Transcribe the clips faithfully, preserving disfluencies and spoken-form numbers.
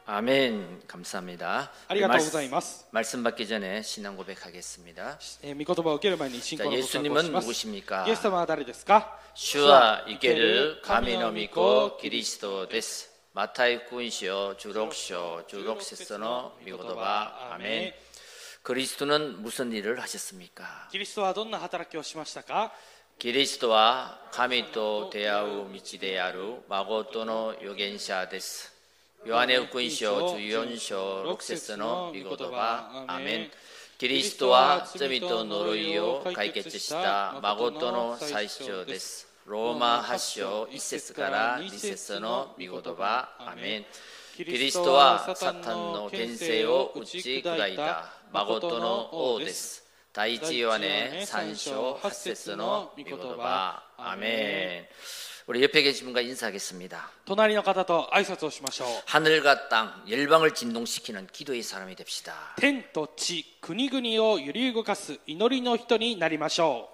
아멘. 감사합니다. ありがとうございます。 말씀 받기 전에 신앙 고백하겠습니다. えー御言葉を受ける前に信仰 자, の告白をし 예수님은 ます。 누구십니까? イエス様は誰ですか？ 주와 이케르 가미노 미코 그리스도 데스. 마타이 군시오 주록쇼 주록세서노 미고도바 아멘. 그리스도는 무슨 일을 하셨습니까? キリストはどんな働きをしましたか？ 그리스도와神と出会う道である誠の預言者です。ヨハネ福音書じゅうよん章ろく節の御言葉アメン。キリストは罪と呪いを解決した誠の最初です。ローマはち章いち節からに節の御言葉アメン。キリストはサタンの権勢を打ち砕いた誠の王です。第一ヨハネさん章はち節の御言葉アメン。 우리 옆에 계신 분과 인사하겠습니다. 隣の方と挨拶をしましょう。 하늘과 땅, 열방을 진동시키는 기도의 사람이 됩시다. 天と地、国々を揺り動かす祈りの人になりましょ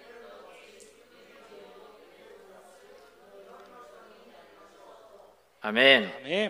う。 아멘. アメン。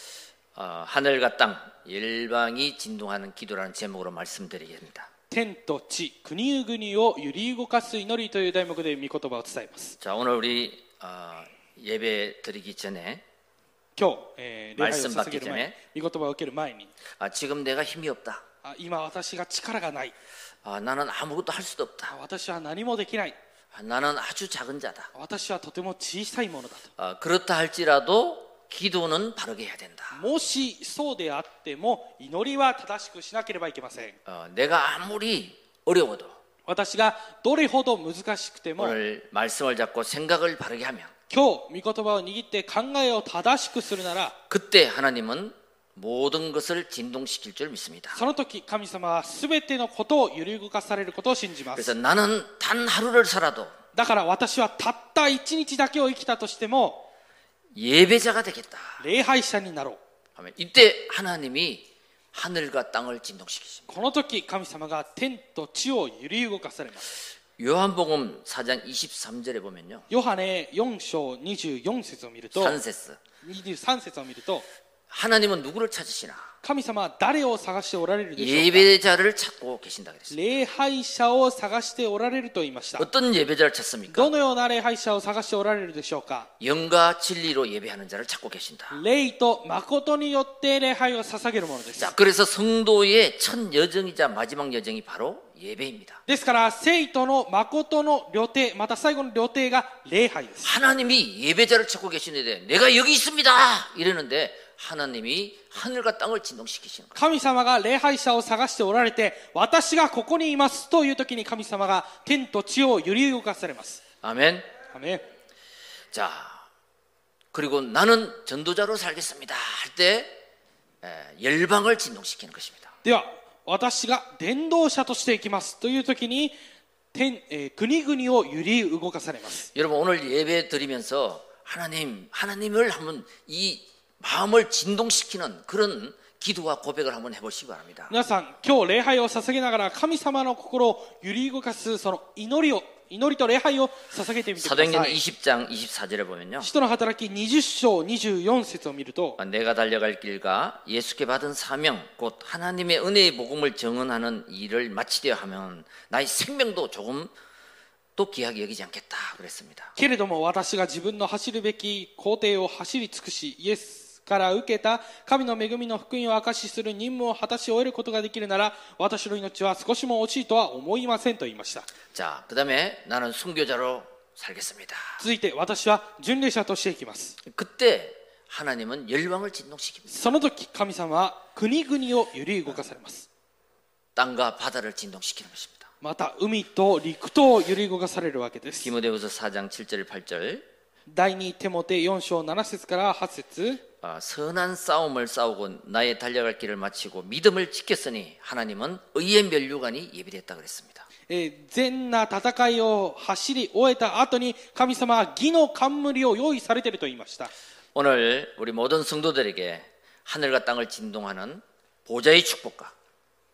어, 하늘과 땅, 열방이 진동하는 기도라는 제목으로 말씀드리겠습니다. 天と地、国々を揺り動かす祈りという題目で御言葉を伝えます。 자, 오늘 우리 어, 예배 드리기 전에 今日、えー、礼拝を捧げる前に、御言葉を受ける前に、 아, 지금 내가 힘이 없다. あ今私が力がない。 아, 나는 아무것도 할 수도 없다. 私は何もできない。 아, 나는 아주 작은 자다. 私はとても小さいものだと。 아, 그렇다 할지라도 기도는 바르게 해야 된다. もしそうであっても祈りは正しくしなければいけません。 어, 내가 아무리 어려워도 私がどれほど難しくても 오늘 말씀을 잡고 생각을 바르게 하면 今日御言葉を握って考えを正しくするなら 그때 하나님은 모든 것을 진동시킬 줄 믿습니다. その時神様は全てのことを揺り動かされることを信じま 그래서 す。 나는 단 하루를 살아도 だから私はたった一日だけを生きたとしても 예배자가 되겠다. 礼拝者になろう。 하면 이때 하나님이 하늘과 땅을 진동시키십니다. この時神様が天と地を揺り動かされます。 요한복음 사 장 이십삼 절에 보면요. ヨハネよん章にじゅうよん節を見ると 삼節にじゅうさん節を見ると 하나님은 누구를 찾으시나? 神様は誰を探しておられるでしょうか。 예배자를 찾고 계신다 그랬습니다. 礼拝者を探しておられると言いました。 어떤 예배자를 찾습니까? どのような礼拝者を探しておられるでしょうか。 영과 진리로 예배하는 자를 찾고 계신다. 霊と誠によって礼拝を捧げるものです。 자, 그래서 성도의 첫 여정이자 마지막 여정이 바로 예배입니다. ですから聖徒の誠の旅程、また最後の旅程が礼拝です。 하나님이 예배자를 찾고 계시는데 내가 여기 있습니다 이러는데 하나님이 하늘과 땅을 진동시키시는 거예요. 神様が礼拝者を探しておられて、私がここにいますという時に神様が天と地を揺り動かされます。 아멘. アメン。 자, 그리고 나는 전도자로 살겠습니다 할 때 열방을 진동시키는 것입니다. では私が伝道者としていきますという時に天、えー、国々を揺り動かされます。 여러분 오늘 예배 드리면서 하나님, 하나님을 한번 이 마음을 진동시키는 그런 기도와 고백을 한번 해보시기 바랍니다. 皆さん今日礼拝を捧げながら神様の心を揺り動かすその祈りを祈りと礼拝を捧げてみてください。 사도행전 이십 장 이십사 절에 보면요. 使徒の働きにじゅっ章にじゅうよん節を見ると 내가 달려갈 길과 예수께 받은 사명 곧 하나님의 은혜의 복음을 증언하는 일을 마치려 하면 나의 생명도 조금 또 귀하게 여기지 않겠다 그랬습니다. けれども私が自分の走るべき工程を走り尽くしイエスから受けた神の恵みの福音を証しする任務を果たし終えることができるなら私の命は少しも惜しいとは思いませんと言いました。 자, 그다음에 나는 순교자로 살겠습니다. 続いて私は巡礼者としていきます。 그때 하나님은 열방을 진동시킵니다. その時神様は国々を揺り動かされます。 땅과 바다를 진동시키는 것입니다. また海と陸と揺り動かされるわけです。 디모데후서 사 장 칠 절 팔 절 第二テモテよん章なな節からはち節 아, 선한 싸움을 싸우고 나의 달려갈 길을 마치고 믿음을 지켰으니 하나님은 의의 면류관이 예비됐다 그랬습니다. 善な戦いを走り終えた後に神様は義の冠を用意されていると言いました。 오늘 우리 모든 성도들에게 하늘과 땅을 진동하는 보좌의 축복과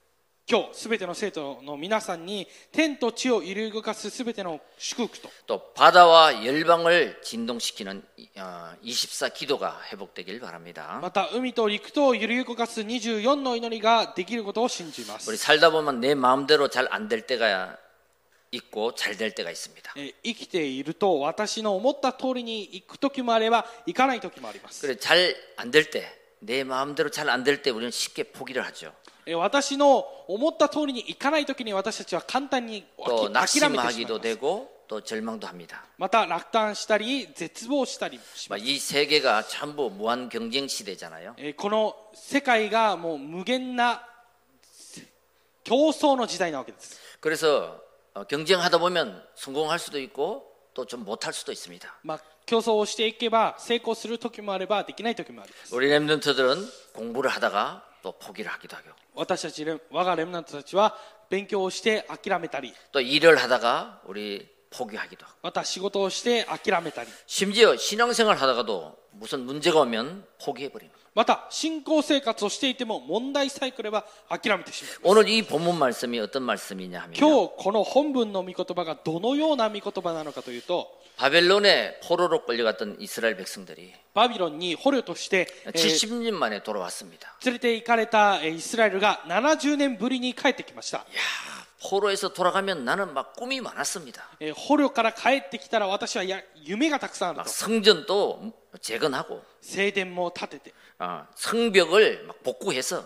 今日すべての生徒の皆さんに天と地を揺り動かすすべての祝福と 또 바다와 열방을 진동시키는 어, 이십사 기도가 회복되길 바랍니다. また海と陸とを揺り動かすにじゅうよんの祈りができることを信じます 우리 살다 보면 내 마음대로 잘 안 될 때가 있고 잘 될 때가 있습니다. えー生きていると私の思った通りに行く時もあれば行かない時もあります 그래 잘 안 될 때, 내 마음대로 잘 안 될 때 우리는 쉽게 포기를 하죠. えー私の思った通りに行かない時に私たちは簡単に 또 諦めてしまいま 낙심하기도 す 되고 또 절망도 합니다. また落胆したり絶望したりします 이 세계가 전부 무한 경쟁 시대잖아요. えーこの世界がもう無限な競争の時代なわけです 그래서 어, 경쟁하다 보면 성공할 수도 있고 또 좀 못할 수도 있습니다. まあ競争をしていけば成功する時もあればできない時もあります 우리 렘넌트들은 공부를 하다가 또 포기를 하기도 하고 私たちレ我がレムナントたちは勉強をして諦めたり 또 일을 하다가 우리 포기하기도 하고 また仕事をして諦めたり 심지어 신앙생활 하다가도 무슨 문제가 오면 포기해버리는 거예요. また信仰生活をしていても問題さえ来れば諦めてしまう 오늘 이 본문 말씀이 어떤 말씀이냐 하면 今日この本文の御言葉がどのような御言葉なのかというと 바벨론에 포로로 끌려갔던 이스라엘 백성들이 バビロンに捕虜として、えー 칠십 년 만에 돌아왔습니다. 連れて行かれたえーイスラエルがななじゅうねんぶりに帰ってきました 야, 포로에서 돌아가면 나는 막 꿈이 많았습니다. えー捕虜から帰ってきたら私はや夢がたくさんある 막 と 성전도 재건하고 聖殿も建てて 어, 성벽을 막 복구해서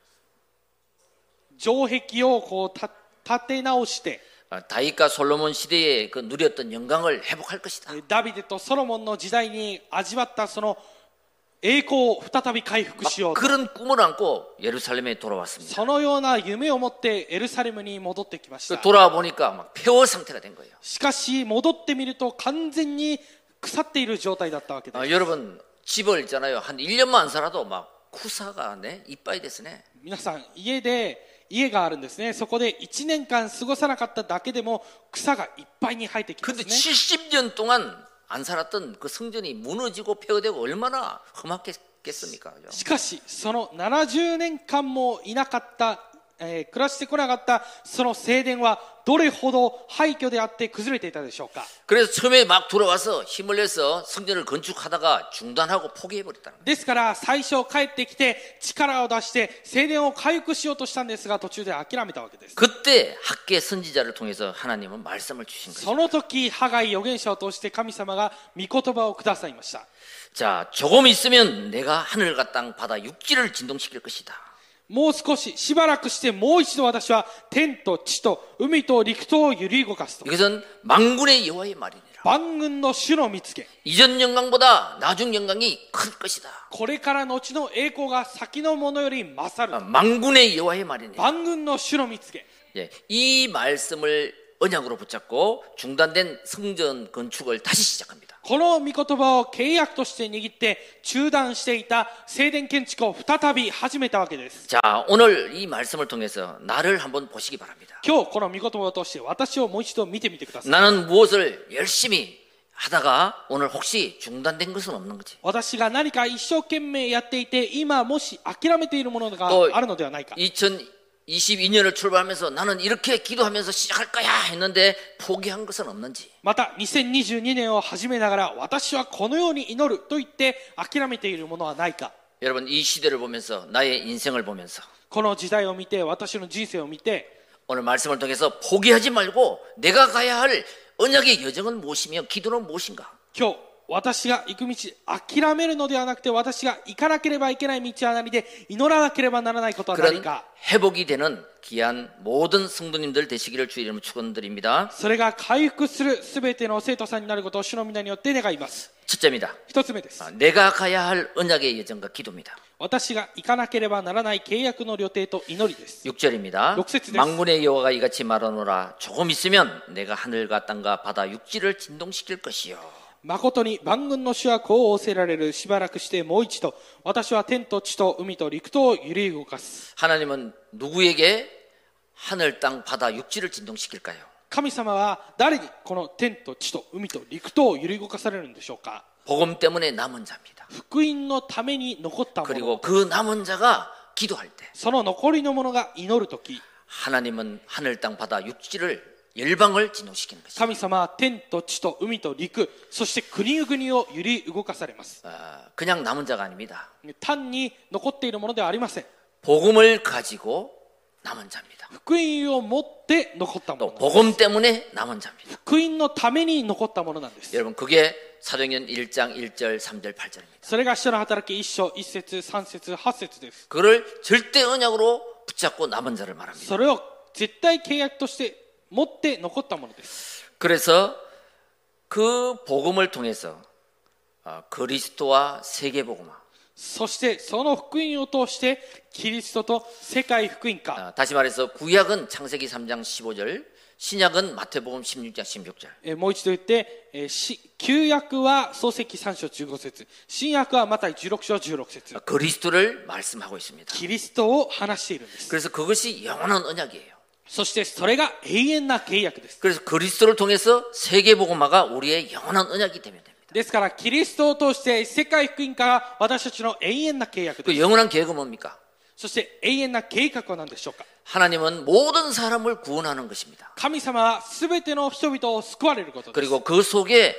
城壁をこうた建て直して 어, 다윗과 솔로몬 시대에 그 누렸던 영광을 회복할 것이다. ダビデとソロモンの時代に味わったその栄光を再び回復 막 しようと 그런 꿈을 안고 예루살렘에 돌아왔습니다. そのような夢を持ってエルサレムに戻ってきまし 그 た 돌아와 보니까 막 폐허 상태가 된 거예요. しかし戻ってみると完全に腐っている状態だったわけです 아, 여러분 집을 있잖아요. 한 일 년만 안 살아도 막 쿠사가 네 이빠이 됐네. 皆さん家で家があるんですねそこでいちねんかん過ごさなかっただけでも草がいっぱいに生えてきま 근데 すね 칠십 년 동안 안 살았던 그 성전이 무너지고 폐허되고 얼마나 험악했겠습니까? 그죠? しかしそのななじゅうねんかんもいなかったえー暮らしてこなかったその聖殿はどれほど廃墟であって崩れていたでしょうか 그래서 처음에 막 들어와서 힘을 내서 성전을 건축하다가 중단하고 포기해버렸다는 거예요. ですから最初帰ってきて力を出して聖殿を回復しようとしたんですが途中で諦めたわけです 그때 학계 선지자를 통해서 하나님은 말씀을 주신 거예요. その時ハガイ預言者を通して神様が御言葉をくださいました 자, 조금 있으면 내가 하늘과 땅, 바다, 육지를 진동시킬 것이다. もう少ししばらくしてもう一度私は天と地と海と陸とを揺り動かすと 이것은 만군의 여호와의 말이니라. 万軍の主の見つけ 이전 영광보다 나중 영광이 클 것이다. これから後の栄光が先のものより勝 아, る 만군의 여호와의 말이니라. 万軍の主の見つけ 예, 이 말씀을 언약으로 붙잡고 중단된 성전 건축을 다시 시작합니다. この御言葉を契約として握って中断していた聖殿建築を再び始めたわけです 자, 오늘 이 말씀을 통해서 나를 한번 보시기 바랍니다. 今日この御言葉を通して私をもう一度見てみてください 나는 무엇을 열심히 하다가 오늘 혹시 중단된 것은 없는 거지. 私が何か一生懸命やっていて今もし諦めているものがとあるのではないか 이천이십이 년을 출발하면서 나는 이렇게 기도하면서 시작할 거야 했는데 포기한 것은 없는지. またにせんにじゅうにねんを始めながら私はこのように祈ると言って諦めているものはないか 여러분 이 시대를 보면서 나의 인생을 보면서 この時代を見て私の人生を見て 오늘 말씀을 통해서 포기하지 말고 내가 가야 할 언약의 여정은 무엇이며 기도는 무엇인가. 今日私が行く道諦めるのではなくて私が行かなければいけない道は何で祈らなければならないことは何 그런 か 회복이 되는 귀한 모든 성도님들 되시기를 주의 이름으로 축원드립니다. それが回復するすべての生徒さんになることを主の皆によって願います 첫째입니다. 一つ目です 아, 내가 가야 할 언약의 여정과 기도입니다. 私が行かなければならない契約の旅程と祈りです 육 절입니다. 육節です. 만군의 여호와가 이같이 말하노라. 조금 있으면 내가 하늘과 땅과 바다 육지를 진동시킬 것이요. 誠に万軍の主はこう仰せられるしばらくしてもう一度私は天と地と海と陸とを揺り動かす 하나님은 누구에게 하늘, 땅, 바다, 육지를 진동시킬까요? 神様は誰にこの天と地と海と陸とを揺り動かされるんでしょうか 복음 때문에 남은 자입니다. 福音のために残ったもの 그리고 그 남은 자가 기도할 때 その残りのものが祈るとき 하나님은 하늘 땅 바다 육지를 열방을 진동시키는 것입니다. 神様は天と地と海と陸、そして国々を揺り動かされます。 아, 그냥 남은 자가 아닙니다. 単に残っているものではありません。 복음을 가지고 남은 자입니다. 福音を持って残ったも 또 のなんです。 복음 때문에 남은 자입니다. 福音のために残ったものなんです。 여러분 그게 사도행전 일 장 일 절 삼 절 팔 절입니다. それが使徒の働きいっ章いっ節さん節はち節です。 그를 절대 언약으로 붙잡고 남은 자를 말합니다. それを絶対契約として持って残ったものです。 그래서 그 복음을 통해서 그리스도와 세계 복음화, そしてその福音を通してキリストと世界福音化、 다시 말해서 구약은 창세기 삼 장 십오 절, 신약은 마태복음 십육 장 십육 절. えーもう一度言って、えーし旧約は創世記さん章じゅうご節、新約はマタイじゅうろく章じゅうろく節、 그리스도를 말씀하고 있습니다. キリストを話しているんです。 그래서 그것이 영원한 언약이에요. そしてそれが永遠な契約です。 그래서 그리스도를 통해서 세계 복음화가 우리의 영원한 언약이 되면 됩니다. ですからキリストを通して世界福音化が私たちの永遠な契約で 그 す。 영원한 계획은 뭡니까? そして永遠な計画は何でしょうか。 하나님은 모든 사람을 구원하는 것입니다. 神様は全ての人々を救われることです。 그리고 그 속에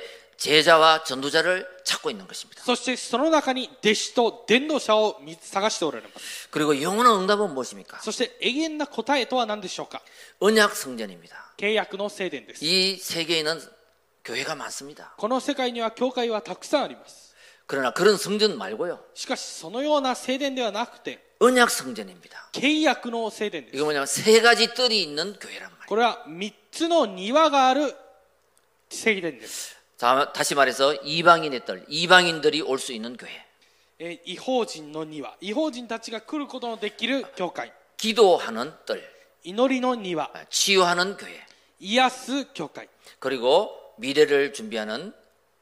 제자와 전도자를 찾고 있는 것입니다. そしてその中に弟子と伝道者を見探しておられます。 그리고 영원한 응답은 무엇입니까? そして永遠な答えとは何でしょうか。 언약 성전입니다. 契約の聖殿です。 이 세계에는 교회가 많습니다. この世界には教会はたくさんあります。 그러나 그런 성전 말고요. しかしそのような聖殿ではなくて 언약 성전입니다. 契約の聖殿です。 이거 뭐냐면 세 가지 뜰이 있는 교회란 말이에요. これはみっつの庭がある聖殿です。 자, 다시 말해서 이방인의 뜰, 이방인들이 올 수 있는 교회. えー異邦人の庭、異邦人たちが来ることのできる教会、 기도하는 뜰, 祈りの庭、 치유하는 교회, 癒す教会、 그리고 미래를 준비하는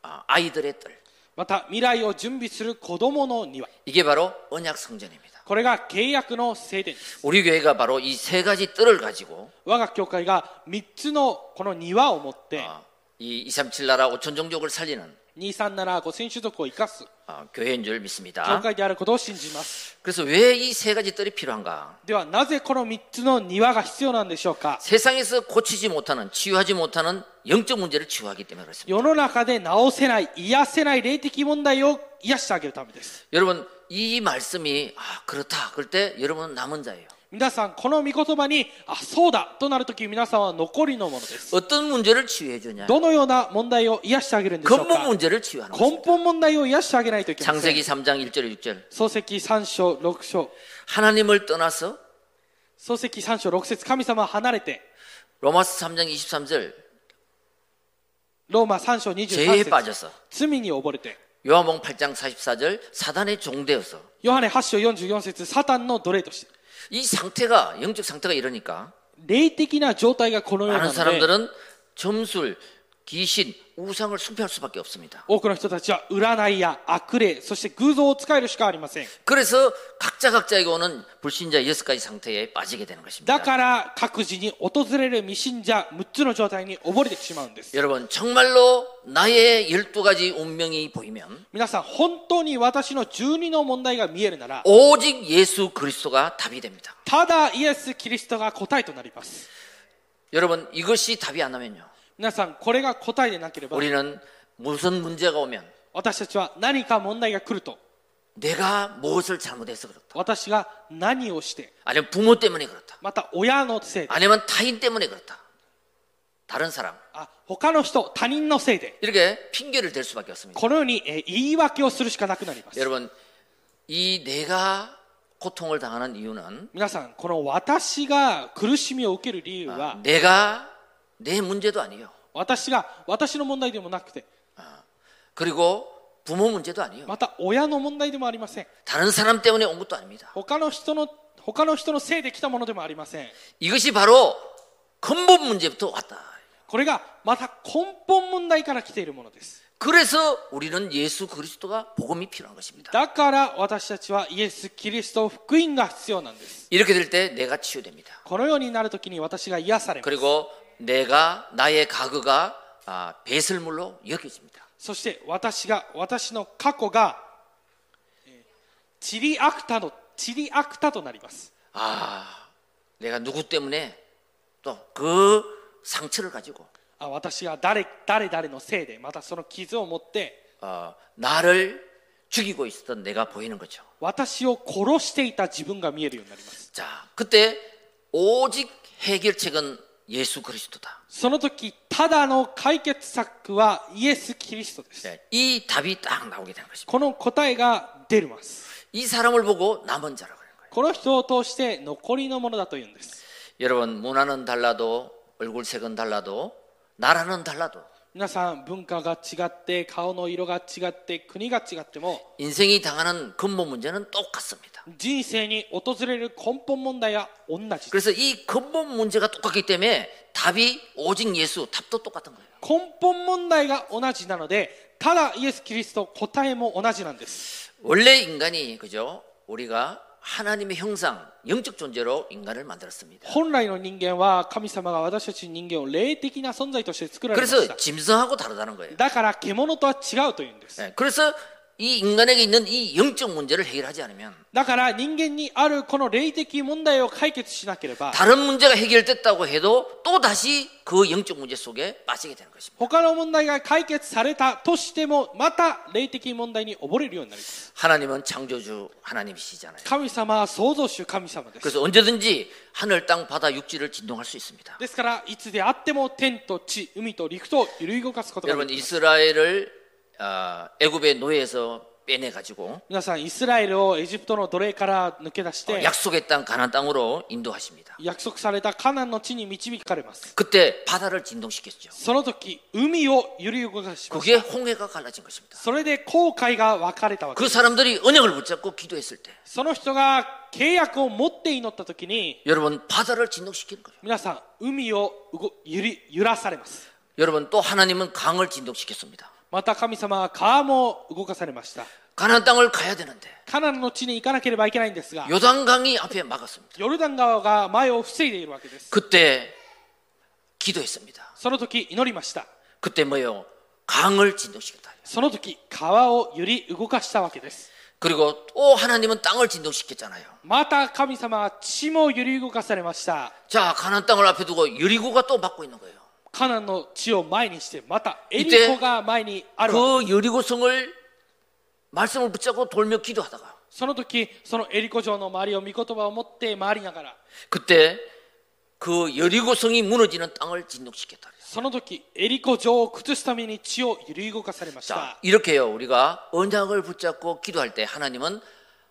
아이들의 뜰. また未来を準備する子供の庭、 이게 바로 언약 성전입니다. これが契約の聖殿です。 우리 교회가 바로 이 세 가지 뜰을 가지고 我が教会がみっつのこの庭を持って 어, 이 이삼칠 나라 오천 종족을 살리는 にさんななごせん種族を生かす 어, 교회인 줄 教 믿습니다. 会であることを信じます。 그래서 왜 이 세 가지 뜰이 필요한가? ではなぜこのみっつの庭が必要なんでしょうか。 세상에서 고치지 못하는, 치유하지 못하는 영적 문제를 치유하기 때문에 그렇습니다. 世の中で治せない、癒せない霊的問題を癒してあげるためです。 여러분 이 말씀이 아, 그렇다. 그럴 때 여러분은 남은 자예요. 皆さんこの御言葉にあそうだとなるとき皆さんは残りのものです。 어떤 문제를 치유해 주냐? どのような問題を癒してあげるんでしょう 근본 か。 문제를 치유하는 根 것입니다. 本問題を癒してあげないといけません。 창세기 삼 장 일 절에 육 절. 創世記さん章ろく章、 하나님을 떠나서 創世記さん章ろく節、神様は離れて 로마서 삼 장 이십삼 절 ローマさん章にじゅうさん 죄에 節、 빠져서, 罪に溺れて 요한복음 팔 장 사십사 절 사단의 종되어서. ヨハネはち章よんじゅうよん節、サタンの奴隷として、 이 상태가, 영적 상태가 이러니까 霊的な状態がこのような 많은 ので 사람들은 점술, 귀신, 우상을 숭배할 수밖에 없습니다. 多くの人たちは占いや悪霊、そして偶像を使えるしかありません。 그래서 각자 각자에게 오는 불신자 여섯 가지 상태에 빠지게 되는 だ 것입니다. から各自に訪れる未信者むっつの状態に溺れてしまうんです。 여러분 정말로 나의 열두 가지 운명이 보이면 皆さん本当に私のじゅうにの問題が見えるなら 오직 예수 그리스도가 답이 됩니다. ただイエス・キリストが答えとなります。 여러분 이것이 답이 안 나면요, 皆さんこれが答えでなければ 우리는 무슨 문제가 오면 私たちは何か問題が来ると 내가 무엇을 잘못해서 그렇다, 私が何をして 아니면 부모 때문에 그렇다, また親のせいで 아니면 타인 때문에 그렇다, 다른 사람, あ他の人他人のせいで 이렇게 핑계를 댈 수밖에 없습니다. このようにえー言い訳をするしかなくなります。 여러분 이 내가 고통을 당하는 이유는 皆さんこの私が苦しみを受ける理由は 내가 내 문제도 아니에요. 私が私の問題でもなくて 그리고 부모 문제도 아니에요. また親の問題でもありません。 다른 사람 때문에 온 것도 아닙니다. 他の人の他の人のせいで来たものでもありません。 이것이 바로 근본 문제부터 왔다. これがまた根本問題から来ているものです。 그래서 우리는 예수 그리스도가 복음이 필요한 것입니다. だから私たちはイエス・キリスト福音が必要なんです。 이렇게 될 때 내가 치유됩니다. このようになるときに私が癒されます。 그리고 내가 나의 과거가 아, 배설물로 여겨집니다. そして私が私の過去がチリアクタのチリアクタとなります。 아, 내가 누구 때문에 또 그 상처를 가지고 あ私が誰誰々のせいでまたその傷を持って 어, 나를 죽이고 있었던 내가 보이는 거죠. 私を殺していた自分が見えるようになります。 자, 그때 오직 해결책은 예수 그리스도다. その時ただの解決策はイエス・キリストです。 네, 이 답이 딱 나오게 되는 것입니다. この答えが出ます。 이 사람을 보고 남은 자라고 하는 거예요. この人を通して残りのものだというんです。 여러분 문화는 달라도 얼굴색은 달라도 나라는 달라도 皆さん文化が違って顔の色が違って国が違っても 인생이 당하는 근본 문제는 똑같습니다. 人生に訪れる根本問題は同じです。 그래서 이 근본 문제가 똑같기 때문에 답이 오직 예수, 답도 똑같은 거예요. 根本問題が同じなのでただイエス・キリスト答えも同じなんです。 원래 인간이 그죠? 우리가 하나님의 형상, 영적 존재로 인간을 만들었습니다. 本来の人間は神様が私たち人間を霊的な存在として作られまし 그래서 た。 짐승하고 다르다는 거예요. だから獣とは違うというんです。 네, 그래서 이 인간에게 있는 이 영적 문제를 해결하지 않으면 だから人間にあるこの霊的問題を解決しなければ 다른 문제가 해결됐다고 해도 또 다시 그 영적 문제 속에 빠지게 되는 것입니다. 他の問題が解決されたとしてもまた霊的問題に溺れるようになります。 하나님은 창조주 하나님이시잖아요. 神様は創造主神様です。 그래서 언제든지 하늘, 땅, 바다, 육지를 진동할 수 있습니다. ですからいつであっても天と地、海と陸と揺り動かすことがで 여러분 きます。 이스라엘을 어, 애굽의 노예에서 빼내가지고 皆さんイスラエルをエジプトの奴隷から抜け出し 어, て 약속의 땅 가나안 땅으로 인도하십니다. 約束されたカナンの地に導かれます。 그때 바다를 진동시켰죠. その時海を揺り動かしまし 그게 た。 홍해가 갈라진 것입니다. それで航海が分かれたわけ 그 です。 사람들이 언약을 붙잡고 기도했을 때 その人が契約を持って祈った時に 여러분 바다를 진동시키는 거예요. 皆さん海を動揺り揺らされます。 여러분 또 하나님은 강을 진동시켰습니다. また神様は川も動かされました。 가나안 땅을 가야 되는데 カナンの地に行かなければいけないんですが 요단강이 앞에 막았습니다. ヨルダン川が前を防いでいるわけです。 그때 기도했습니다. その時祈りました。 그때 뭐예요? 강을 진동시켰다. その時川を揺り動かしたわけです。 그리고 또 하나님은 땅을 진동시켰잖아요. また神様は地も揺り動かされました。 자, 가나안 땅을 앞에 두고 여리고가 또 막고 있는 거예요. カナンの地を前にしてまたエリコが前にあるわけです。 그 여리고성을 말씀을 붙잡고 돌며 기도하다가 その時そのエリコ城の周りを御言葉を持って回りながら 그때 그 여리고성이 무너지는 땅을 진동시켰다. その時エリコ城を崩すために地を揺り動かされまし 자, た。 이렇게요. 우리가 언약을 붙잡고 기도할 때 하나님은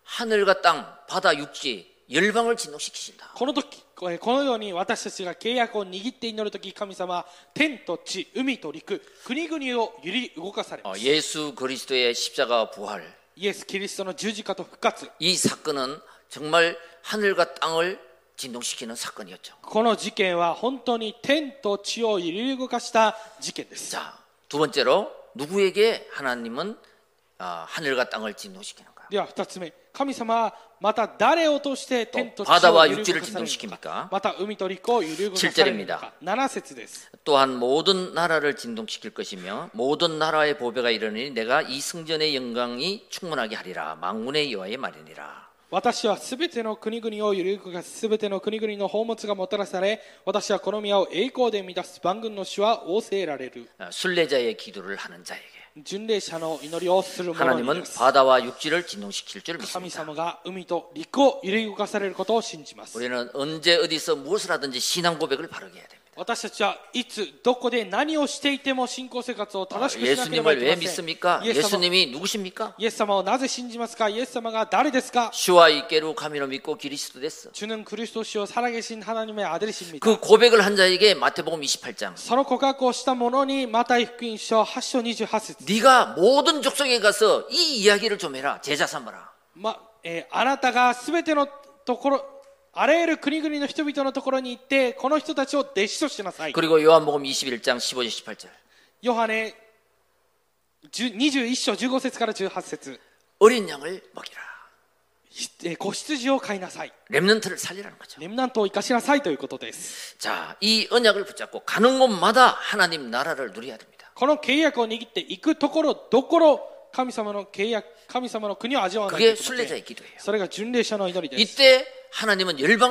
하늘과 땅, 바다, 육지, 열방을 진동시키신다. この時このように私たちが契約を握って祈る時神様は天と地、海と陸、国々を揺り動かされま 어, す。 예수 그리스도의 십자가 부활 イエス・キリストの十字架と復活、 이 사건은 정말 하늘과 땅을 진동시키는 사건이었죠. この事件は本当に天と地を揺り動かした事件です。 자, 두 번째로 누구에게 하나님은 어, 하늘과 땅을 진동시키는가? では二つ目、神様はまた誰を通して天と地 바다와 を揺り動かされ 육지를 るの 진동시킵니까? か、また海と陸を揺り動かされるのか。なな節です。 또한 모든 나라를 진동시킬 것이며 모든 나라의 보배가 이르니 내가 이 성전의 영광이 충만하게 하리라. 만군의 여호와의 말이니라. 私はすべての国々を揺り動かすすべての国々の宝物がもたらされ、私はこの宮を栄光で満たす万軍の主は仰せられる。 순례자의 기도를 하는 자에게 巡礼者の祈りをする者に 하나님은 です。 바다와 육지를 진동시킬 줄 神 믿습니다. 様が海と陸を揺り動かされることを信じます。 우리는 언제 어디서 무엇을 하든지 신앙 고백을 바르게 해야 됩니다. 私たちはいつどこで何をしていても信仰生活を正しくしなければい 예수님을 け 왜 ません。 믿습니까? イエス様 예수님이 누구십니까? イエス様をなぜ信じますか？イエス様が誰ですか？ 주와 있게로 가미로 믿고 그리스도 됐어. 주는 그리스도시요 살아계신 하나님의 아들이십니다. 그 고백을 한 자에게 마태복음 이십팔 장 その告白をした者にマタイ福音書はち章にじゅうはち節 네가 모든 족속에 가서 이 이야기를 좀 해라. 제자 삼아라. まえーあなたがすべてのところあらゆる国々の人々のところに行ってこの人たちを弟子としなさい。 그리고 요한복음 이십일 장 십오 절 십팔 절 ヨハネにじゅういち章じゅうご節からじゅうはち節 어린 양을 먹이라. えー子羊を飼いなさい。 렘넌트를 살리라는 거죠. レムナントを生かしなさいということです。 자, 이 언약을 붙잡고 가는 곳마다 하나님 나라를 누려야 됩니다. この契約を握っていくところどころ神様の契約神様の国を味わわないとい 그게 けません。 순례자의 기도예요. それが巡礼者の祈りです。 이때 하나님은 열방을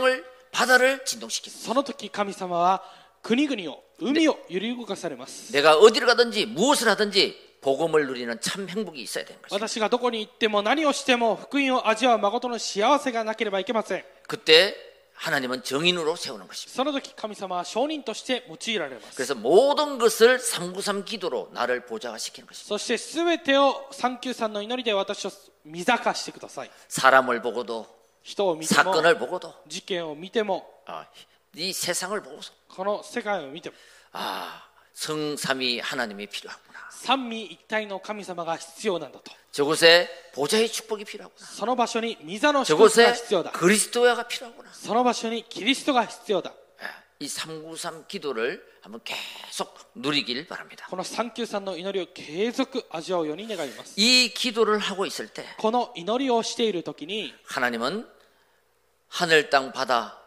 바다를 진동시킵니다. その時神様は国々を海を揺り動かされます。 내가 어디를 가든지 무엇을 하든지 복음을 누리는 참 행복이 있어야 되는 것입니다. 私がどこに行っても何をしても福音を味わう誠の幸せがなければいけません。 그때 하나님은 정인으로 세우는 것입니다. その時神様は証人として用いられます。 그래서 모든 것을 삼구삼 기도로 나를 보좌화시키는 것입니다. そして全てを三九三の祈りで私を見坂してください。 사람을 보고도 人を見ても 사건을 보고도 事件を見ても 아, 이 세상을 보고서 この世界を見ても 아, 성삼위 하나님이 필요하구나. 三位一体の神様が必要なんだと。 저곳에 보좌의 축복이 필요하구나. その場所に御座の祝福が 저곳에 必要だ。 그리스도야가 필요하구나. その場所にキリストが必要だ。 이 삼구삼 기도를 한번 계속 누리길 바랍니다. この三九三の祈りを継続味わうように願います。 이 기도를 하고 있을 때 この祈りをしている時に 하나님은 하늘 땅 바다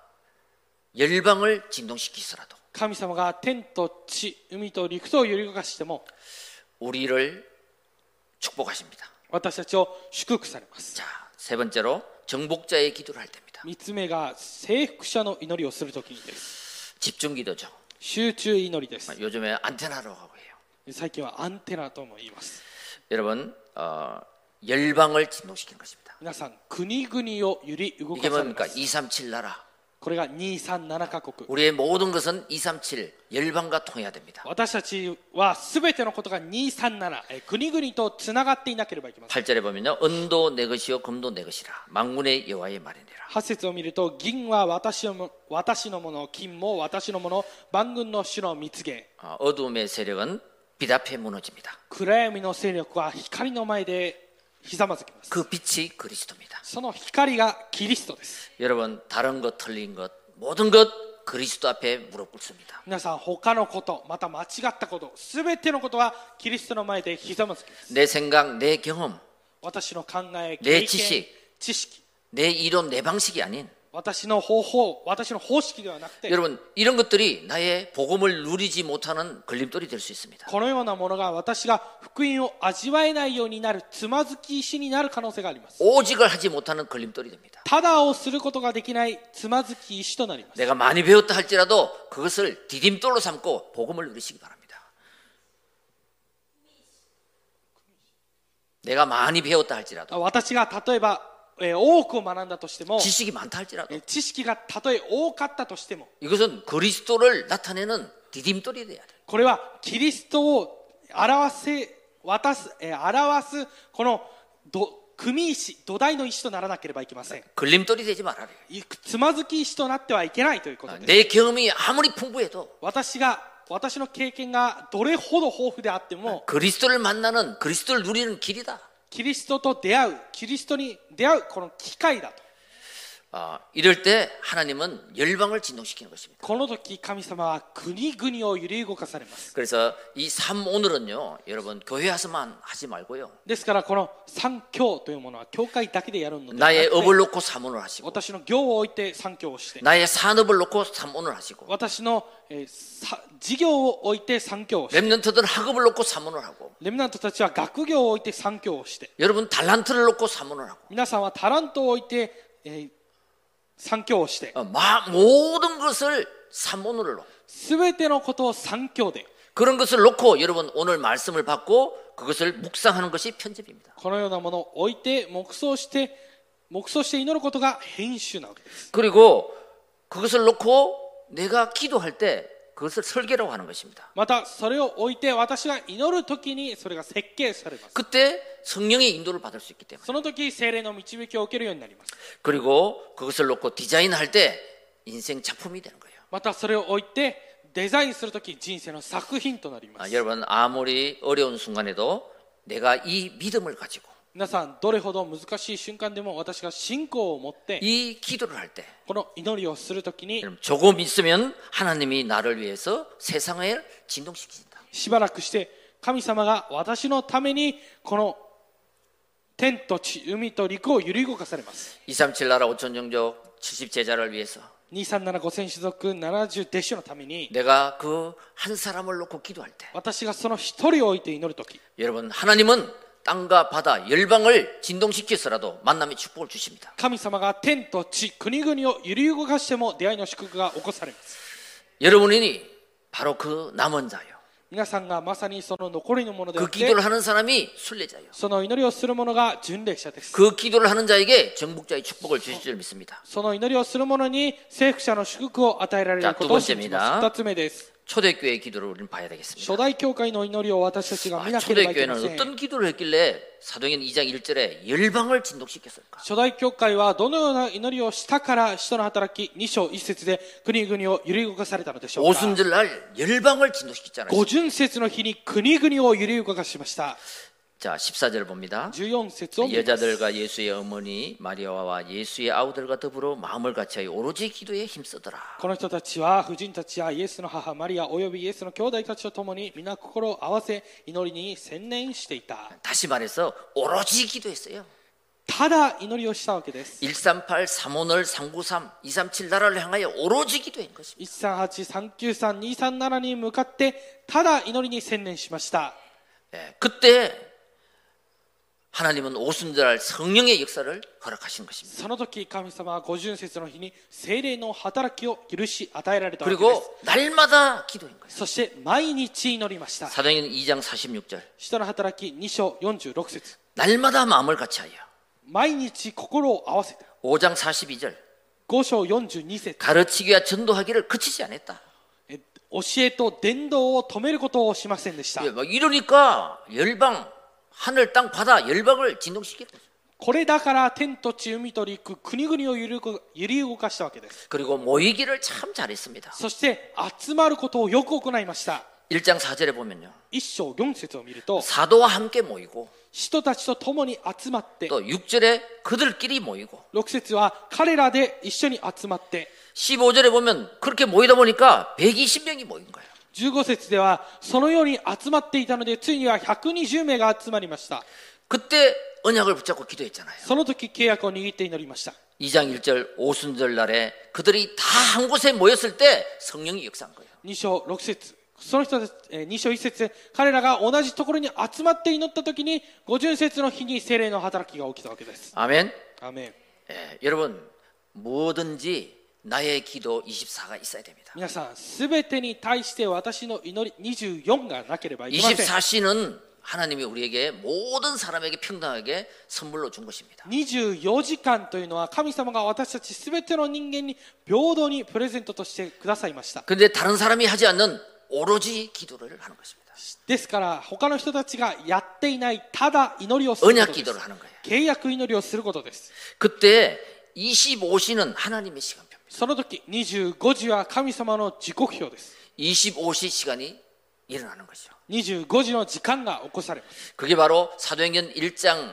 열방을 진동시키더라도 神様が天と地、海と陸とを揺り動かしても 우리를 축복하십니다. 私たちを祝福されます。 자, 세 번째로 정복자의 기도를 할 때입니다. 三つ目が征服者の祈りをする時にです。 집중 기도죠. 集中祈りです。 요즘에 안테나라고 하고 해요. 最近はアンテナとも言います。 여러분 어, 열방을 진동시키는 것입니다. 皆さん、国々を揺り動 이게 かされま 뭡니까? す。 이삼칠 나라. これがにさんななカ国。 우리의 모든 것은 이삼칠 열방과 통해야 됩니다. 私たちは全てのことがにさんなな、え国々とつながっていなければいけません。 팔 절에 보면요. 은도 내 것이요 금도 내 것이라. 만군의 여호와의 말이니라. はち節を見ると、銀は私のも私のもの、金も私のもの、万軍の主の蜜源。 어, 어둠의 세력은 빛 앞에 무너집니다. 暗闇の勢力は光の前でひざまずきます。 그 빛이 그리스도입니다. その光がキリストです。 여러분 다른 것 틀린 것 모든 것 그리스도 앞에 무릎 꿇습니다. 皆さん、他のこと、また間違ったこと、すべてのことはキリストの前でひざまずきます。 내 생각, 내 경험, 私の考え、経験、 ね知識知識、 내 이론, 내 방식이 아닌 私の方法、私の方式ではなくて、 여러분 이런 것들이 나의 복음을 누리지 못하는 걸림돌이 될 수 있습니다. このようなものが私が福音を味わえないようになるつまずき石になる可能性があります。 오직을 하지 못하는 걸림돌이 됩니다. ただをすることができないつまずき石となります。 내가 많이 배웠다 할지라도 그것을 디딤돌로 삼고 복음을 누리시기 바랍니다. 내가 많이 배웠다 할지라도 私が例えば、えー多くを学んだとしても、 지식이 많다 할지라도 えー知識がたとえ多かったとしても、 이것은 그리스도를 나타내는 디딤돌이 돼야 돼요. これはキリストを表せ渡す、えー表すこのど組石、土台の石とならなければいけません。 걸림돌이 되지 말아야 돼요. いつまずき石となってはいけないということです。 내 경험이 아무리 풍부해도 私が私の経験がどれほど豊富であっても、 그리스도를 만나는 그리스도를 누리는 길이다. キリストと出会う、キリストに出会うこの機会だと。 아, 이럴 때 하나님은 열방을 진동시키는 것입니다. この時神様は国々を揺り動かされます。 그래서 이 삼 오늘은요, 여러분 교회 와서만 하지 말고요. ですからこの三教というものは教会だけでやるのではな 나의 くて、 업을 놓고 삼 오늘 하시고 私の業を置いて三教をして、 나의 산업을 놓고 삼 오늘 하시고 私の、えーさ事業を置いて三教をして、 렘넌트들은 학업을 놓고 삼 오늘 하고 レムナントたちは学業を置いて三教をして、 여러분 달란트를 놓고 삼 오늘 하고 皆さんはタラントを置いて、えー三教をして、 어, 마, 모든 것을 삼 오늘로 すべてのことを三教で、 그런 것을 놓고 여러분 오늘 말씀을 받고 그것을 묵상하는 것이 편집입니다. このようなものを置いて黙想して黙想して祈ることが編集なわけです。 그리고 그것을 놓고 내가 기도할 때 그것을 설계라고 하는 것입니다. またそれを置いて私が祈るときにそれが設計されます。 그때 성령의 인도를 받을 수 있기 때문에. その時聖霊の導きを受けるようになります。 그리고 그것을 놓고 디자인할 때 인생 작품이 되는 거예요. またそれを置いてデザインするとき人生の作品となりま 아, す。 여러분 아무리 어려운 순간에도 내가 이 믿음을 가지고 皆さんどれほど難しい瞬間でも私が信仰を持って 이 기도를 할 때 この祈りをするときに 조금 있으면 하나님이 나를 위해서 세상을 진동시키신다. しばらくして神様が私のためにこの天と地、海と陸を揺り動かされます。 이삼칠 나라 오천 종족 칠십 제자를 위해서 にさんななごせん種族ななじゅう弟子のために 내가 그 한 사람을 놓고 기도할 때 私がその一人を置いて祈るとき 여러분 하나님은 땅과 바다, 열방을 진동시켜서라도 만남의 축복을 주십니다. 神様が天と地、国々を揺り動かしても出会いの祝福が起こされます。 여러분이 바로 그 남은 자요. 皆さんがまさにその残りのものであっ 그 て、 기도를 하는 사람이 순례자요. その祈りをする者が巡礼者です。 그 기도를 하는 자에게 정복자의 축복을 주실 줄 믿습니다. その祈りをする者に征服者の祝福を与えられることを信じます。二つ目です。 초대교회의 기도를 우리는 봐야 되겠습니다. 初代教会の祈りを私たちが見 아, なければいけま 초대교회는 せん。 어떤 기도를 했길래 사도행전 이 장 일 절에 열방을 진동시켰을까? 初代教会はどのような祈りをしたから使徒の働きに章いち節で国々を揺り動かされたのでしょうか。 오순절날 열방을 진동시켰잖아요. 五巡節の日に国々を揺り動かしました。 자, 십사 절 봅니다. じゅうよん節を見ます。 여자들과 예수의 어머니 마리아와 예수의 아우들과 더불어 마음을 같이하여 오로지 기도에 힘쓰더라. この人たちは婦人たちやイエスの母マリアおよびイエスの兄弟たちと共に皆心を合わせ祈りに専念していた。 다시 말해서 오로지 기도했어요. ただ祈りをしたわけです。 일삼팔 삼오늘 삼구삼 이삼칠 나라를 향하여 오로지 기도한 것입니다. いちさんはち、さんきゅうさん、にさんななに向かってただ祈りに専念しました。 예, 그때 하나님은 오순절날 성령의 역사를 허락하신 것입니다. その時神様は五巡節の日に聖霊の働きを許し与えられたわけです。 그리고 날마다 기도한 거예요. そして毎日祈りました。 사도행전 이 장 사십육 절 使徒の働きに章よんじゅうろく節 날마다 마음을 같이하여. 毎日心を合わせた。 오 장 사십이 절 ご章よんじゅうに節 가르치기와 전도하기를 그치지 않았다. え教えと伝道を止めることをしませんでした。 예, 막 이러니까 열방 하늘 땅 바다 열방을 진동시키는 거죠. これだから天と地海と陸国々を揺り動揺り動かしたわけです。 그리고 모이기를 참 잘했습니다. そして集まることをよく行いました。 일 장 사 절에 보면요. 一章四節を見ると 사도와 함께 모이고 人たちと共に集まって、 또 육 절에 그들끼리 모이고 ろく節は彼らで一緒に集まって、 십오 절에 보면 그렇게 모이다 보니까 백이십 명이 모인 거예요. じゅうご節ではそのように集まっていたのでついにはひゃくにじゅう名が集まりました。 그때 언약을 붙잡고 기도했잖아요. その時契約を握って祈りました。 이 장 일 절 오순절 날에 그들이 다 한 곳에 모였을 때 성령이 역사한 거예요. に章ろく節その人たち、えー、に章いち節彼らが同じところに集まって祈った時に五巡節の日に聖霊の働きが起きたわけです。 아멘. アメン。 예, 여러분 뭐든지 나의 기도 이십사가 있어야 됩니다. 皆さんすべてに対して私の祈りにじゅうよんがなければいけません。 이십사 시는 하나님이 우리에게 모든 사람에게 평등하게 선물로 준 것입니다. にじゅうよじかんというのは神様が私たちすべての人間に平等にプレゼントとしてくださいました。 그런데 다른 사람이 하지 않는 오로지 기도를 하는 것입니다. ですから他の人たちがやっていないただ祈りをすること 언약 です。 기도를 하는 거예요. 契約祈りをすることです。 그때 이십오 시는 하나님의 시간표입니다. その時にじゅうごじは神様の時刻表です。 이십오 시 시간이 일어나는 것이죠. にじゅうごじの時間が起こされます。 그게 바로 사도행전 일 장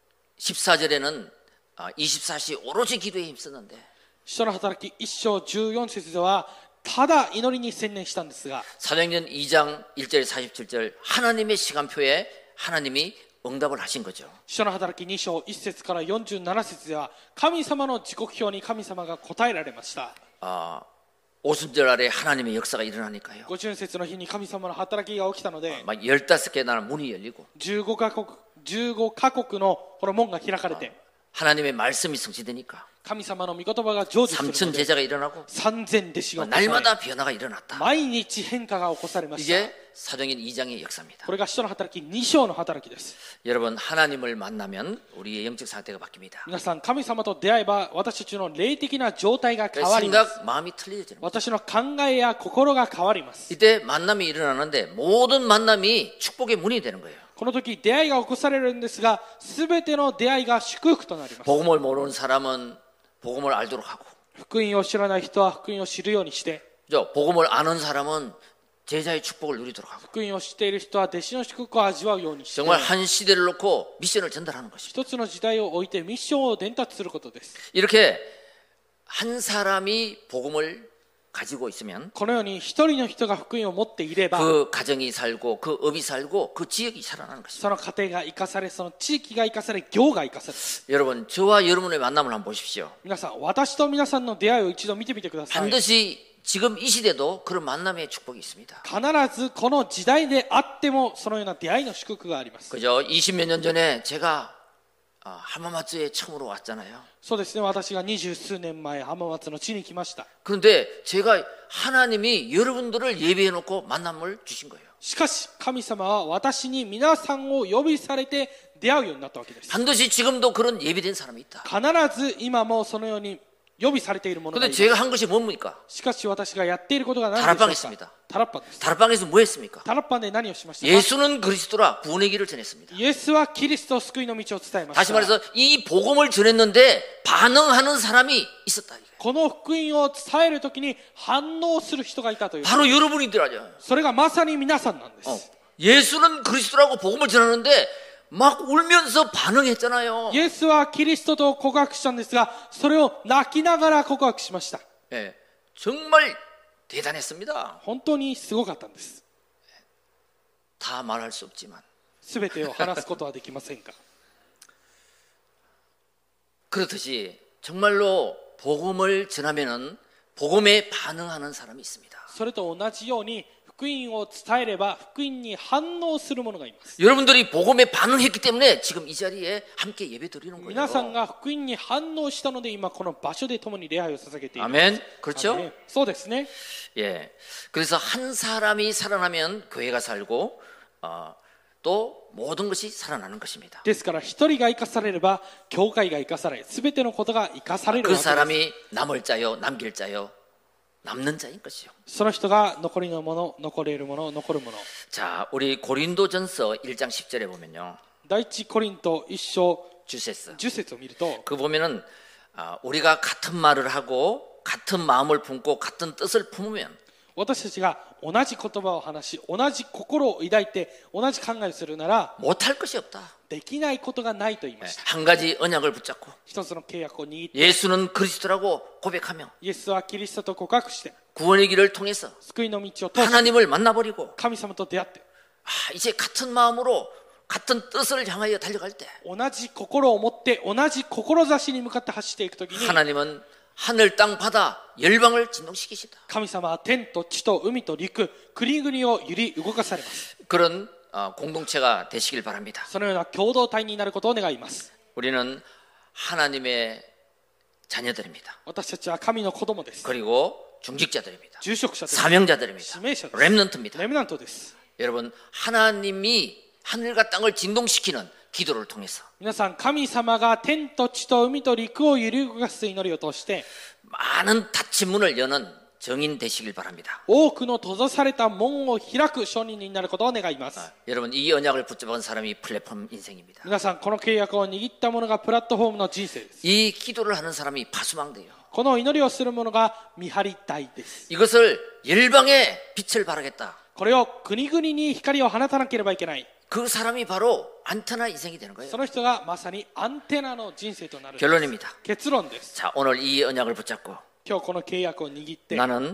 십사 절에는 이십사 시 오로지 기도에 힘썼는데 使徒の働きいち章じゅうよん節ではただ祈りに専念したんですが 사도행전 이 장 일 절 사십칠 절 하나님의 시간표에 하나님이 응답을 하신 거죠. 使徒の働きに章いち節からよんじゅうなな節では神様の時刻表に神様が答えられました。 아, 오순절 아래 하나님의 역사가 일어나니까요. 五巡節の日に神様の働きが起きたので 막 열다섯 개 나라 문이 열리고 じゅうごカ国、じゅうごカ国のこの門が開かれて 하나님의 말씀이 성취되니까 神様の御言葉が成就するの 삼천 で 제자가 일어나고 三千弟子が起こされ 날마다 변화가 일어났다. 毎日変化が起こされました。 이게 사도행전 이 장의 역사입니다. これが使徒の働きに章の働きです。 여러분 하나님을 만나면 우리의 영적 상태가 바뀝니다. 皆さん神様と出会えば私たちの霊的な状態が変わります。 생각, 마음이 틀려지는 거예요. 私の考えや心が変わります。 이때 만남이 일어나는데 모든 만남이 축복의 문이 되는 거예요. この時出会いが起こされるんですが、すべての出会いが祝福となります。 복음을 모르는 사람은 복음을 알도록 하고 福音を知らない人は福音を知るようにして、 그죠? 복음을 아는 사람은 제자의 축복을 누리도록 하고 福音を知っている人は弟子の祝福を味わうようにして、 정말 한 시대를 놓고 미션을 전달하는 것입니다. 一つの時代を置いてミッションを伝達することです。 이렇게 한 사람이 복음을 가지고 있으면 このように一人の人が福音を持っていれば、 그 가정이 살고 그 업이 살고 그 지역이 살아나는 것입니다. その家庭が生かされ、その地域が生かされ、業が生かされる。 여러분 저와 여러분의 만남을 한번 보십시오. 皆さん、私と皆さんの出会いを一度見てみてください。 반드시 지금 이 시대도 그런 만남의 축복이 있습니다. 必ずこの時代であってもそのような出会いの祝福があります。 그죠? 이십 몇 년 전에 제가 아, 하마마츠에 처음으로 왔잖아요. そうですね、私が二十数年前浜松の地に来ました。 그런데 제가 하나님이 여러분들을 예배해 놓고 만남을 주신 거예요. しかし神様は私に皆さんを呼びされて出会うようになったわけです。 반드시 지금도 그런 예비된 사람이 있다. 必ず今もそのように呼びされているものがい 근데 ます。 제가 한 것이 뭡니까? しかし私がやっていることが何でしょう 다락방했습니다. か。タラッパです。 다락방에서 뭐 했습니까? タラッパで何をしましたか。 예수는 그리스도라 구원의 길을 전했습니다. イエスはキリスト救いの道を伝えまし 다시 た。 말해서 이 복음을 전했는데 반응하는 사람이 있었다. この福音を伝えるときに反応する人がいたという。 바로 여러분이더라죠. それがまさに皆さんなんです。 어. 예수는 그리스도라고 복음을 전하는데 막 울면서 반응했잖아요. イエスはキリストと告白したんですが、それを泣きながら告白しました。 예, 정말 대단했습니다. 本当にすごかったんです。 다 말할 수 없지만 すべてを話すことはできませんか。 그렇듯이 정말로 복음을 전하면은 복음에 반응하는 사람이 있습니다. それと同じように福音を伝えれば福音に反応する者がいます。 여러분들이 복음에 반응했기 때문에 지금 이 자리에 함께 예배 드리는 거예요. 皆さんが福音に反応したので今この場所で共に礼拝を捧げている。 아멘. 그렇죠? アメンそうですね。 예. 그래서 한 사람이 살아나면 교회가 살고 어, 또 모든 것이 살아나는 것입니다. ですから一人が生かされれば教会が生かされ、すべてのことが生かされる 그 わけです。 사람이 남을 자요, 남길 자요, 남는 자인 것이요. その人が残りのもの、残れるもの、残るもの。 자, 우리 고린도전서 일 장 십 절에 보면요. 第一コリント一章 주세스. 十節を見ると、 그 보면은 아, 우리가 같은 말을 하고 같은 마음을 품고 같은 뜻을 품으면 私たちが同じ言葉を話し、同じ心を抱いて、同じ考えをするなら、 못할 것이 없다. できないことがないと言いました。 한 가지 언약을 붙잡고 一つの契約を握って、 예수는 그리스도라고 고백하며 イエスはキリストと告白して、 구원의 길을 통해서 救いの道を通して、 하나님을 만나버리고 神様と出会って、 아, 이제 같은 마음으로 같은 뜻을 향하여 달려갈 때 同じ心を持って、同じ志に向かって走っていくときに、 하나님은 하늘 땅 바다 열방을 진동시키시다. 神様は天と地と海と陸、国々を揺り動かされます。 그런 어, 공동체가 되시길 바랍니다. そのような共同体になることを願います。 우리는 하나님의 자녀들입니다. 私たちは神の子供です。 그리고 중직자들입니다. 住職者です。 사명자들입니다. 使命者です。 렘넌트입니다. レムナントです。 여러분 하나님이 하늘과 땅을 진동시키는 기도를 통해서 皆さん、神様が天と地と海と陸を揺り動かす祈りを通して、 많은 닫힌 문을 여는 정인 되시길 바랍니다. 多くの閉ざされた門を開く証人になることを願います。 여러분 이 언약을 붙잡은 사람이 플랫폼 인생입니다. 皆さん、この契約を握った者がプラットフォームの人生です。 이 기도를 하는 사람이 파수망대요. この祈りをする者が見張り隊です。 이것을 열방에 빛을 발하겠다. これを国々に光を放たなければいけない。 그 사람이 바로 안테나 인생이 되는 거예요. その人がまさにアンテナの人生となる。 결론입니다. 結論です。 자, 오늘 이 언약을 붙잡고 今日この契約を握って、 나는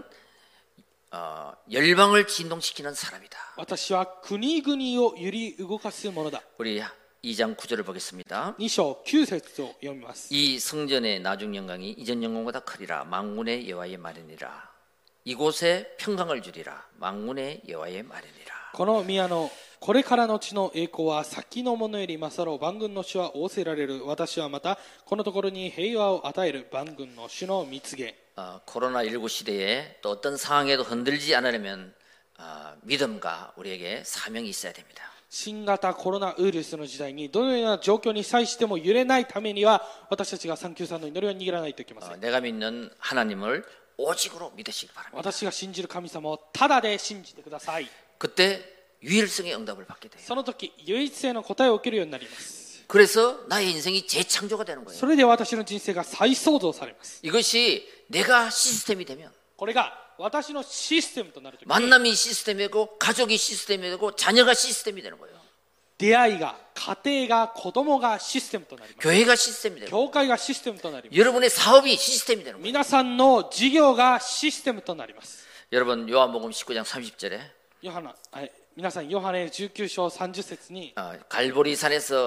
어, 열방을 진동시키는 사람이다. 私は国々を揺り動かすものだ。 우리 이 장 구 절을 보겠습니다. に章きゅう節を読みます。 이 성전의 나중 영광이 이전 영광보다 크리라. 만군의 여호와의 말이니라. 이곳에 평강을 주리라. 만군의 여호와의 말이니라. この宮のこれからの地の栄光は先のものより勝ろう。万軍の主は仰せられる。私はまたこのところに平和を与える。万軍の主の蜜げ。 어, 코로나십구 시대에 또 어떤 상황에도 흔들리지 않으려면 어, 믿음과 우리에게 사명이 있어야 됩니다. 新型コロナウイルスの時代にどのような状況に際しても揺れないためには私たちが三九三の祈りを握らないといけません。 어, 내가 믿는 하나님을 오직으로 믿으시기 바랍니다. 私が信じる神様をただで信じてください。 그때 유일성의 응답을 받게 돼요. その時唯一性の答えを受けるようになります。 그래서 나의 인생이 재창조가 되는 거예요. それで私の人生が再創造されます。 이것이 내가 시스템이 되면 これが私のシステムとなるときに 만남이 시스템이 되고 가족이 시스템이 되고 자녀가 시스템이 되는 거예요. 出会いが家庭が子供がシステムとなります。 교회가 시스템이 되는 거예요. 教会がシステムとなります。 여러분의 사업이 시스템이 되는 거예요. 皆さんの事業がシステムとなります。 여러분 요한복음 십구 장 삼십 절에 ヨハナ、はい、皆さんヨハネじゅうきゅう章さんじゅっ節に 어, 갈보리산에서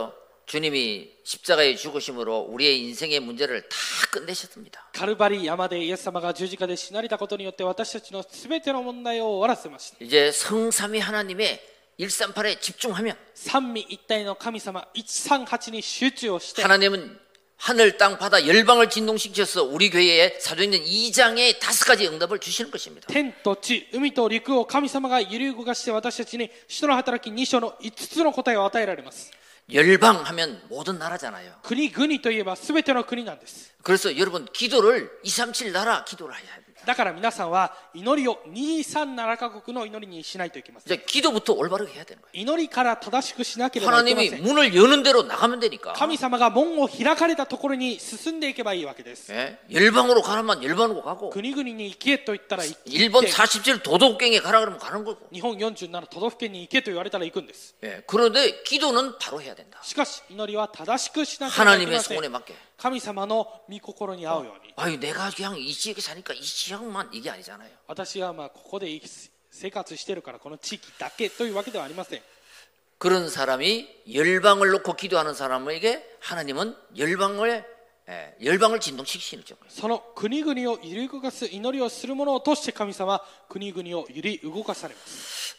주님이 십자가에 죽으심으로 우리의 인생의 문제를 다 끝내셨습니다. カルバリ山でイエス様が十字架で死なれたことによって私たちのすべての問題を終わらせました。 이제 성삼위 하나님의 일삼팔에 집중하면 三位一体の神様いちさんはちに集中をして 하나님은 하늘 땅 바다 열방을 진동시켜서 우리 교회에 사도행전 이 장의 다섯 가지 응답을 주시는 것입니다. 天と地、海と陸を神様が揺り動かして私たちに使徒の働きに章のいつつの答えを与えられます。 열방 하면 모든 나라잖아요. 国々といえばすべての国なんです。 그래서 여러분 기도를 이삼칠 나라 기도를 해야 합니다. だから皆さんは祈りをにさんななカ国の祈りにしないといけません。 이제 기도부터 올바르게 해야 되는 거예요. 祈りから正しくしなければいけませ 하나님이 ん。 문을 여는 대로 나가면 되니까. 神様が門を開かれたところに進んでいけばいいわけです。 예? 열방으로 가라면 열방으로 가고 国々に行けと言ったら行って、 일본 사십칠 도덕경에 가라 그러면 가는 거고. 日本よんじゅうなな都道府県に行けと言われたら行くんです。 예, 그런데 기도는 바로 해야 된다. しかし祈りは正しくしなければいけ 하나님의 ません。 소원에 맞게. 神様の御心に合うように。 아유 내가 그냥 이 지역에 사니까 이 지역만 이게 아니잖아요. 私はまあここで生活しているからこの地域だけというわけではありません。 그런 사람이 열방을 놓고 기도하는 사람에게 하나님은 열방을 예, 열방을 진동시키시는 거예요. その国々を揺り動かす祈りをする者を通して神様は国々を揺り動かされます。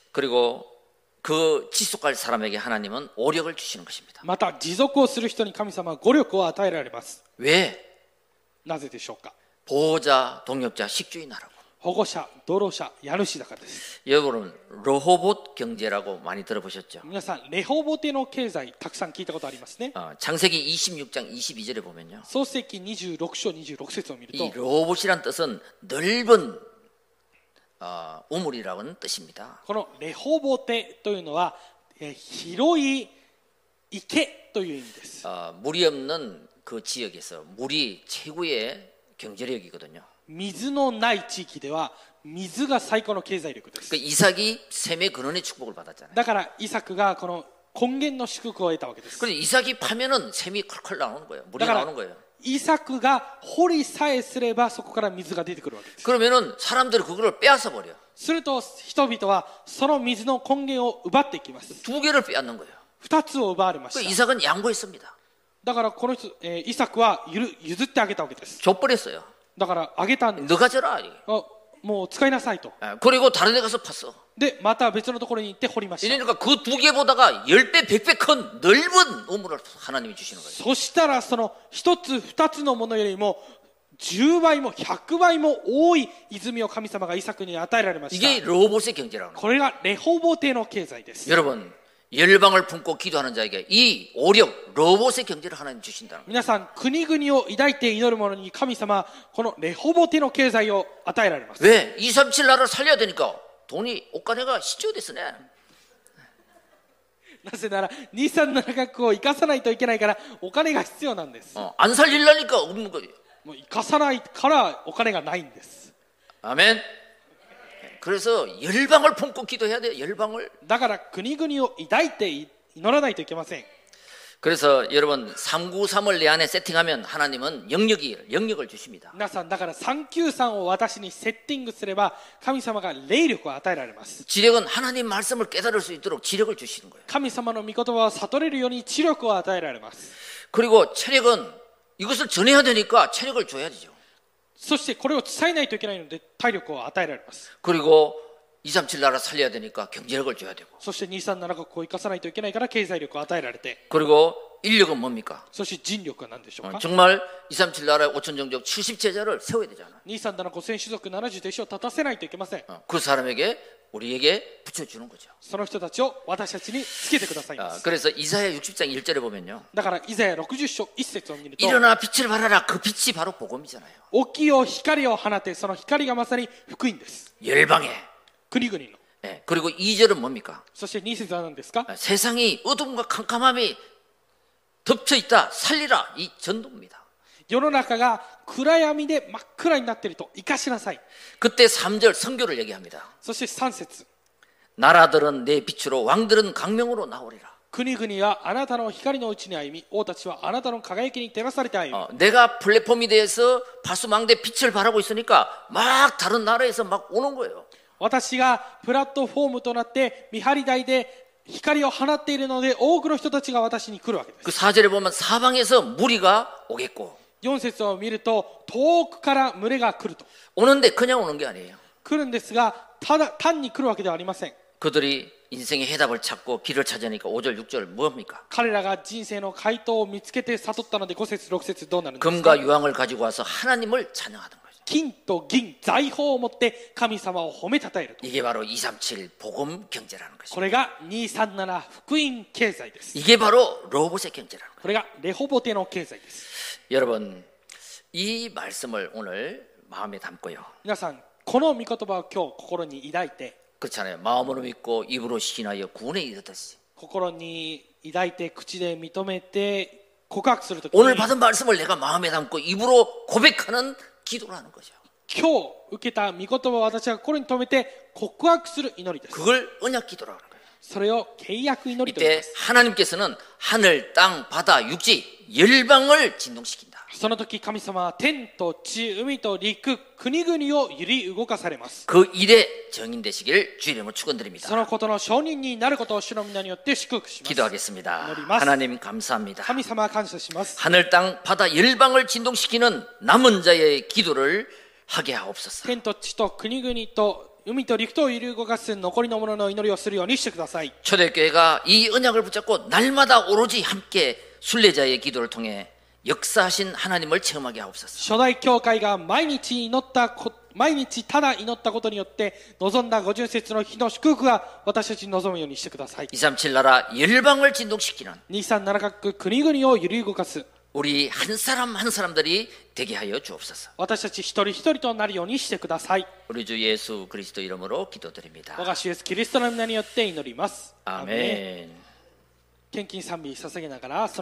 그리고 그 지속할 사람에게 하나님은 오력을 주시는 것입니다. また持続をする人に神様は語力を与えられます。 왜? なぜでしょうか。 보호자, 동역자, 식주인하라고. 保護者、道路者、家主だからです。 여러분 로호봇 경제라고 많이 들어보셨죠? 皆さんレホボテの経済たくさん聞いたことありますね。 어, 창세기 이십육 장 이십이 절에 보면요. 創世記にじゅうろく章にじゅうろく節を見る 이 と 로호봇이란 뜻은 넓은 어, 우물이라는 뜻입니다. このレホボテというのはえー広い池という意味です。 어, 물이 없는 그 지역에서 물이 최고의 경제력이거든요. 水のない地域では水が最高の経済力です。 그 이삭이 샘의 근원의 축복을 받았잖아요. だからイサクがこの根源の祝福を得たわけです。 근데 이삭이 파면은 샘이 컬컬 나오는 거예요. 물이 だから 나오는 거예요. イサクが掘りさえすればそこから水が出てくるわけです。 그러면은 사람들이 그거를 빼앗아 버려. すると人々はその水の根源を奪っていきます。 두 개를 빼앗는 거예요. 二つを奪われま 그 した。 이삭은 양보했습니다. だからこの人、えーイサクはゆる譲ってあげたわけです。 줘버렸어요. だからあげたんです。 너가 져라. あもう使いなさいと。 예, 그리고 다른 데 가서 팠어. でまた別のところに行って掘りました。 이러니까 그 두 개보다가 십 배, 백 배 큰 넓은 우물을 하나님이 주시는 거예요. そしたらその一つ二つのものよりもじゅうばいもひゃくばいも多い泉を神様がイサクに与えられました。 이게 로봇의 경제라는 거예요. これがレホボテの経済です。 여러분 열방을 품고 기도하는 자에게 이 오력 로봇의 경제를 하나님 주신다는 거예요. 皆さん国々を抱いて祈る者に神様はこのレホボテの経済を与えられます。 왜? 이삼칠 나라를 살려야 되니까 돈이 옷가네가 시초됐으네. なぜならにさんななカ国を生かさないといけないからお金が必要なんです。 어, 안 살리려니까 없는 거예요. もう生かさないからお金がないんです。 아멘. 그래서 열방을 품고 기도해야 돼요. 열방을. だから国々を抱いて祈らないといけません。 그래서 여러분 삼구삼을 내 안에 세팅하면 하나님은 영역이 영역을 주십니다. 皆さんだからさんきゅうさんを私にセッティングすれば神様が霊力を与えられます。 지력은 하나님 말씀을 깨달을 수 있도록 지력을 주시는 거예요. 神様の御言葉を悟れるように知力を与えられます。 그리고 체력은 이것을 전해야 되니까 체력을 줘야 되죠. そしてこれを伝えないといけないので体力を与えられます。 그리고 이삼칠 나라 살려야 되니까 경제력을 줘야 되고. そしてにさんななカ国を生かさないといけないから経済力を与えられて、 그리고 인력은 뭡니까? そして人力は何でしょう 어, か。 정말 이삼칠 나라의 오천 종족 칠십 제자를 세워야 되잖아. にさんななごせん種族ななじゅう弟子を立たせないといけません。 어, 그 사람에게 우리에게 붙여주는 거죠. その人たちを私たちにつけてくださいま 아, す。 그래서 이사야 육십 장 일 절에 보면요. だからイザヤろくじゅっ章いち節を見ると、 일어나 빛을 발하라. 그 빛이 바로 복음이잖아요. 起きよ光を放て、その光がまさに福音です。 열방에. 国々の。 예, 그리고 이 절은 뭡니까? そしてに節は何ですか。 아, 세상이 어둠과 캄캄함이 덮쳐 있다. 살리라. 이 전도입니다. 世の中が暗闇で真っ暗になっていると生かしなさい。 그때 삼 절 성교를 얘기합니다. そしてさん節、 나라들은 내 빛으로 왕들은 강명으로 나오리라. 国々はあなたの光のうちに歩み、王たちはあなたの輝きに照らされて歩み、 어, 내가 플랫폼이 돼서 파수망대 빛을 발하고 있으니까 막 다른 나라에서 막 오는 거예요. 私がプラットフォームとなって見張り台で光を放っているので多くの人たちが私に来るわけです。 그 사절에 보면 사방에서 무리가 오겠고 よん節を見ると遠くから群れが来ると 오는데 그냥 오는 게 아니에요. 来るんですが、ただ単に来るわけではありません。 그들이 인생의 해답을 찾고 길을 찾으니까 오 절 육 절 뭡니까? 彼らが人生の回答を見つけて悟ったのでご節ろく節どうなるんですか。 금과 유황을 가지고 와서 하나님을 찬양하던 거죠. 金と銀財宝を持って神様を褒めたたえると。 이게 바로 이백삼십칠 복음 경제라는 こ 것이죠. れがにさんなな福音経済です。 이게 바로 로봇의 경제라는 거예요. これがレホボテの経済です。 여러분, 이 말씀을 오늘 마음에 담고요. 皆さん、この御言葉を今日心に抱いて、 그렇잖아요. 마음으로 믿고 입으로 시인하여 구원에 이르듯이. 心に抱いて口で認めて告白するとき 오늘 に、 받은 말씀을 내가 마음에 담고 입으로 고백하는 기도라는 거죠. 今日受けた御言葉を私が心に留めて告白する祈りです。 그걸 언약 기도라는 거예요. それを契約祈りと言い 이때 ます。 하나님께서는 하늘, 땅, 바다, 육지, 열방을 진동시킨다. その時神様は天と地、海と陸、国々を揺り動かされます。 그 일에 정인 되시길 주의 이름으로 축원드립니다. そのことの証人になることを主の皆によって祝福します。 기도하겠습니다. 기도드리마스. 하나님 감사합니다. 神様感謝します。 하늘, 땅, 바다, 열방을 진동시키는 남은 자의 기도를 하게 하옵소서. 天と地と国々と海と陸とを揺り動かす残りの者の祈りをするようにしてください。 초대교회가 이 언약을 붙잡고 날마다 오로지 함께 순례자의 기도를 통해 역사하신 하나님을 체험하게 하옵소서. 初代教会が毎日祈ったこ毎日ただ祈ったことによって望んだ五巡節の日の祝福が私たちに望むようにしてください。 이백삼십칠 나라 열방을 진동시키는 にさんなな各国々を揺り動かす 우리 한 사람 한 사람들이 되게 하여 주옵소서. 私たち一人一人となるようにしてください。 우리 주 예수 그리스도 이름으로 기도드립니다. 我が主イエスキリストの皆によって祈ります。 아멘. 献金賛美捧げながら